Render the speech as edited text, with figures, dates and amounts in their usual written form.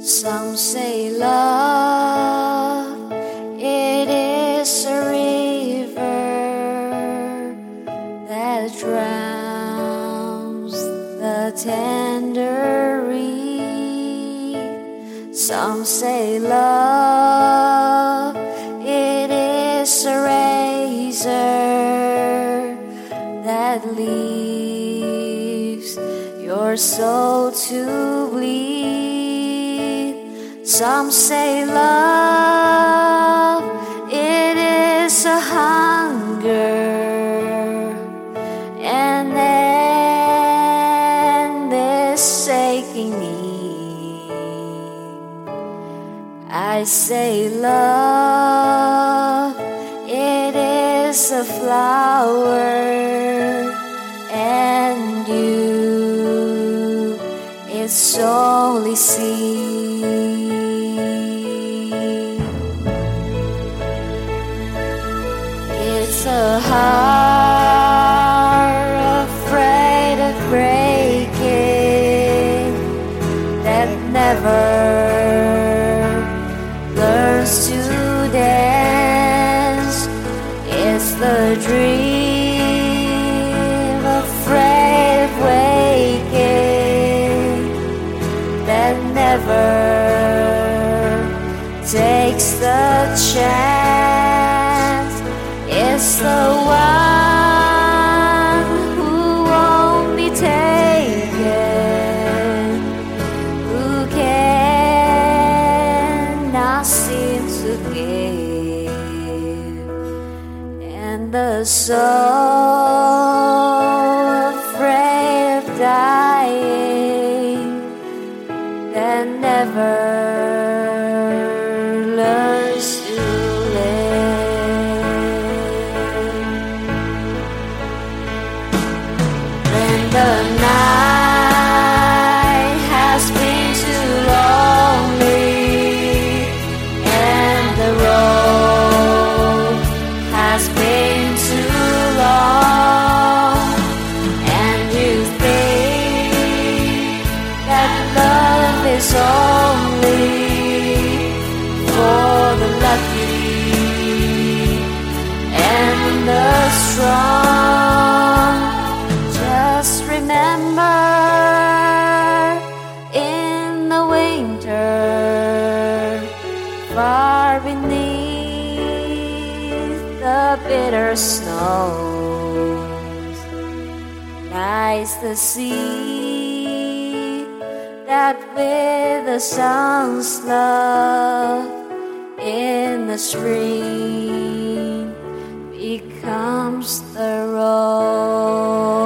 Some say love, it is a river that drowns the tender reed. Some say love, it is a razor that leaves your soul to bleed. Some say love, it is a hunger and endless aching need. I say love, it is a flower, and you, it's only seed. It's a heart afraid of breaking that never learns to dance. It's the dream afraid of waking that never takes the chance. It's the one who won't be taken, who cannot seem to give, and the soul afraid of dying that never learns to the night has been too lonely, and the road has been too long, and you think that love is only for the lucky and the strong. Just remember, in the winter, far beneath the bitter snows, lies the sea that with the sun's love in the spring becomes the rose.